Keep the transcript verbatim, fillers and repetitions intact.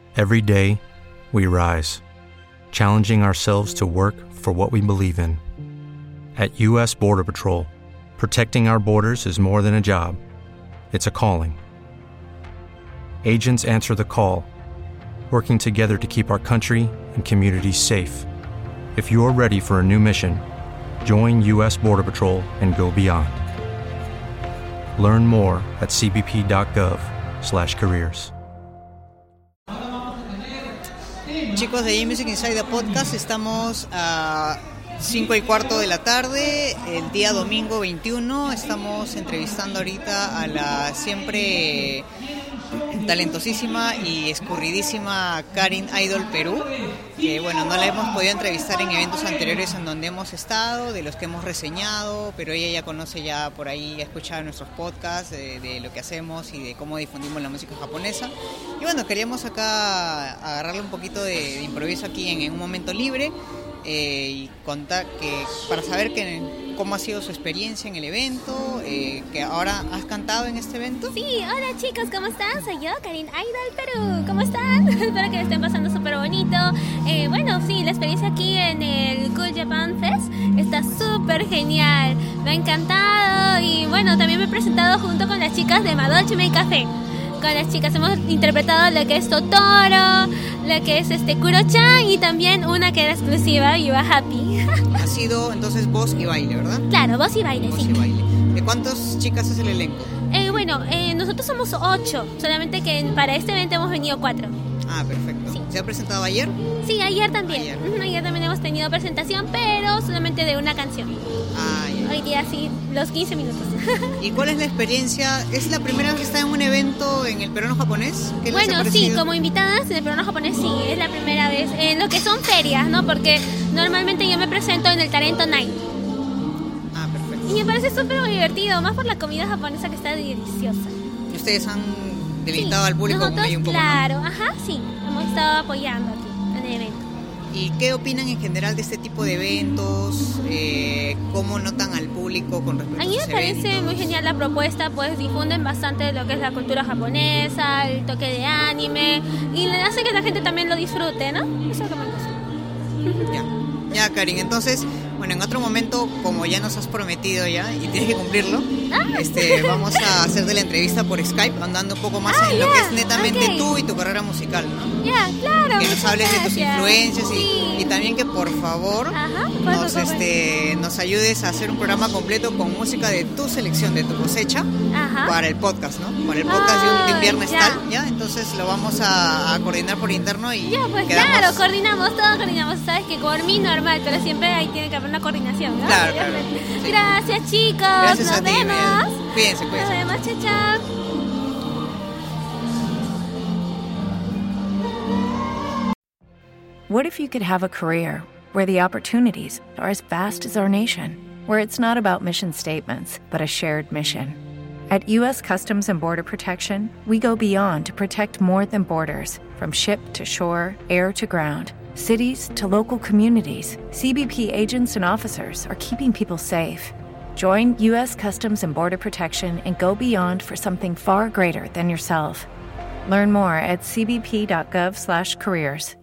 Every day, we rise, challenging ourselves to work for what we believe in. At U S Border Patrol, protecting our borders is more than a job. It's a calling. Agents answer the call, working together to keep our country and communities safe. If you're ready for a new mission, join U S Border Patrol and go beyond. Learn more at c b p dot gov slash careers. Chicos de J-Music Insider Podcast, estamos a cinco y cuarto de la tarde, el día domingo veintiuno. Estamos entrevistando ahorita a la siempre talentosísima y escurridísima Karin Idol Perú, que bueno, no la hemos podido entrevistar en eventos anteriores en donde hemos estado, de los que hemos reseñado, pero ella ya conoce ya por ahí, ha escuchado nuestros podcasts de, de lo que hacemos y de cómo difundimos la música japonesa. Y bueno, queríamos acá agarrarle un poquito de, de improviso aquí en, en un momento libre. Eh, y contar que para saber que, cómo ha sido su experiencia en el evento, eh, que ahora has cantado en este evento. Sí, hola chicos, ¿cómo están? Soy yo, Karin Idol Perú. ¿Cómo están? Espero que le estén pasando súper bonito. Eh, bueno, sí, la experiencia aquí en el Cool Japan Fest está súper genial. Me ha encantado y bueno, también me he presentado junto con las chicas de Madochime Café. Con las chicas hemos interpretado lo que es Totoro, lo que es este Kuro-chan y también una que era exclusiva, You Are Happy. Ha sido entonces voz y baile, ¿verdad? Claro, voz y baile, voz sí. Y baile. ¿De cuántas chicas es el elenco? Eh, bueno, eh, nosotros somos ocho, solamente que para este evento hemos venido cuatro. Ah, perfecto. Sí. ¿Se ha presentado ayer? Sí, ayer también. Ayer, uh-huh, ayer también hemos tenido presentación, pero solamente de una canción. Ah, ya. Hoy día sí, los quince minutos. ¿Y cuál es la experiencia? ¿Es la primera vez que está en un evento en el peruano japonés? ¿Qué les ha Bueno, sí, parecido? como invitadas en el peruano japonés sí, es la primera vez. En lo que son ferias, ¿no? Porque normalmente yo me presento en el Talento Night. Ah, perfecto. Y me parece súper divertido, más por la comida japonesa que está deliciosa. ¿Y ustedes han deleitado Sí, al público nosotros, como un poco? claro, ajá, sí, hemos estado apoyando aquí en el evento. ¿Y qué opinan en general de este tipo de eventos? Eh, ¿Cómo notan al público con respecto A a mí me esos parece eventos? muy genial la propuesta, pues difunden bastante de lo que es la cultura japonesa, el toque de anime, y le hace que la gente también lo disfrute, ¿no? Eso es lo que me gusta. Ya, ya, Karin, entonces, bueno, en otro momento, como ya nos has prometido ya, y tienes que cumplirlo, Ah. este, vamos a hacer de la entrevista por Skype, andando un poco más Ah, en lo ya, que es netamente ok. tú y tu carrera musical, ¿no? Ya, claro. Que nos muchas hables de tus gracias. influencias y, Sí. y también que por favor Ajá, por nos, favor. este, nos ayudes a hacer un programa completo con música de tu selección, de tu cosecha, Ajá. para el podcast, ¿no? Para el podcast de un Ah, de viernes ya. tal, ¿ya? Entonces lo vamos a, a coordinar por interno y Ya, pues quedamos... claro, coordinamos, todos coordinamos. Sabes que por mí normal, pero siempre ahí tiene que haber una coordinación, ¿no? Claro, claro, sí. Gracias, chicos. Gracias Nos a ti, vemos. Miguel. Cuídense, Nos cuídense. vemos, chao, chao. What if you could have a career where the opportunities are as vast as our nation, where it's not about mission statements, but a shared mission? At U S Customs and Border Protection, we go beyond to protect more than borders, from ship to shore, air to ground, cities to local communities. C B P agents and officers are keeping people safe. Join U S Customs and Border Protection and go beyond for something far greater than yourself. Learn more at c b p dot gov slash careers.